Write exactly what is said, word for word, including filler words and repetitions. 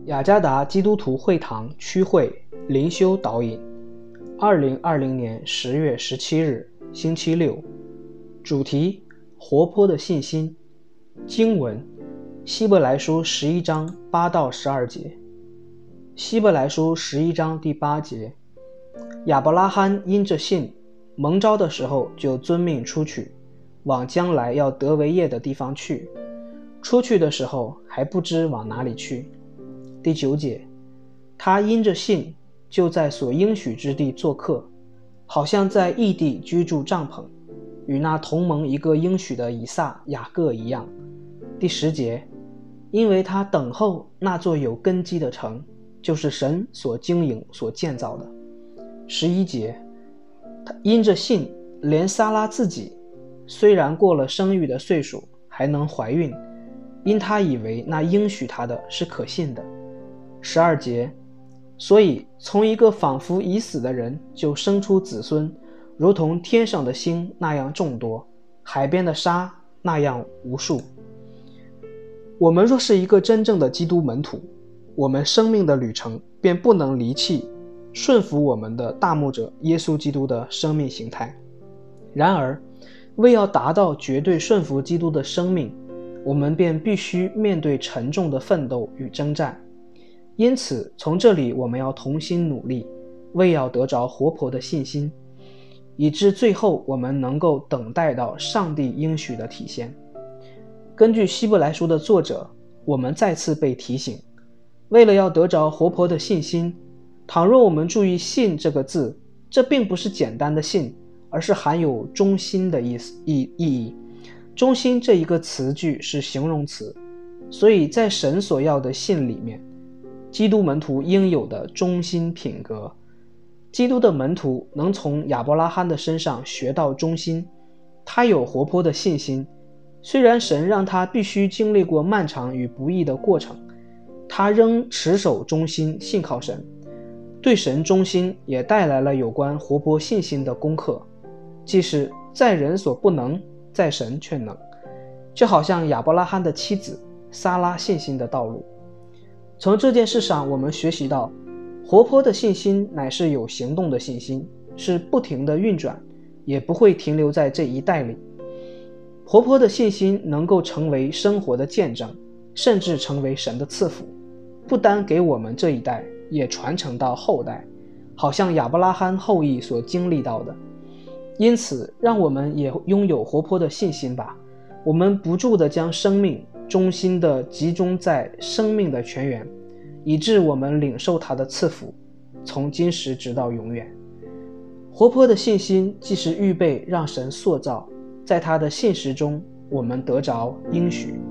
雅加达基督徒会堂区会灵修导引，二零二零年十月十七日，星期六。主题：活泼的信心。经文：希伯来书十一章八到十二节。希伯来书十一章第八节：亚伯拉罕因着信，蒙召的时候就遵命出去，往将来要得为业的地方去。出去的时候还不知往哪里去。第九节：他因着信，就在所应许之地做客，好像在异地居住帐篷，与那同盟一个应许的以撒、雅各一样。第十节：因为他等候那座有根基的城，就是神所经营所建造的。十一节：他因着信，连撒拉自己虽然过了生育的岁数，还能怀孕，因他以为那应许他的是可信的。十二节：所以从一个仿佛已死的人就生出子孙，如同天上的星那样众多，海边的沙那样无数。我们若是一个真正的基督门徒，我们生命的旅程便不能离弃顺服我们的大牧者耶稣基督的生命形态。然而为要达到绝对顺服基督的生命，我们便必须面对沉重的奋斗与征战。因此从这里我们要同心努力，为要得着活泼的信心，以致最后我们能够等待到上帝应许的体现。根据希伯来书的作者，我们再次被提醒，为了要得着活泼的信心，倘若我们注意信这个字，这并不是简单的信，而是含有忠心的意思意意义。忠心这一个词句是形容词，所以在神所要的信里面，基督门徒应有的忠心品格，基督的门徒能从亚伯拉罕的身上学到忠心。他有活泼的信心，虽然神让他必须经历过漫长与不易的过程，他仍持守忠心，信靠神。对神忠心也带来了有关活泼信心的功课，即是在人所不能，在神却能，就好像亚伯拉罕的妻子撒拉信心的道路。从这件事上我们学习到，活泼的信心乃是有行动的信心，是不停的运转，也不会停留在这一代里。活泼的信心能够成为生活的见证，甚至成为神的赐福，不单给我们这一代，也传承到后代，好像亚伯拉罕后裔所经历到的。因此让我们也拥有活泼的信心吧，我们不住地将生命忠心地集中在生命的泉源，以致我们领受他的赐福，从今时直到永远。活泼的信心既是预备让神塑造，在他的信实中我们得着应许。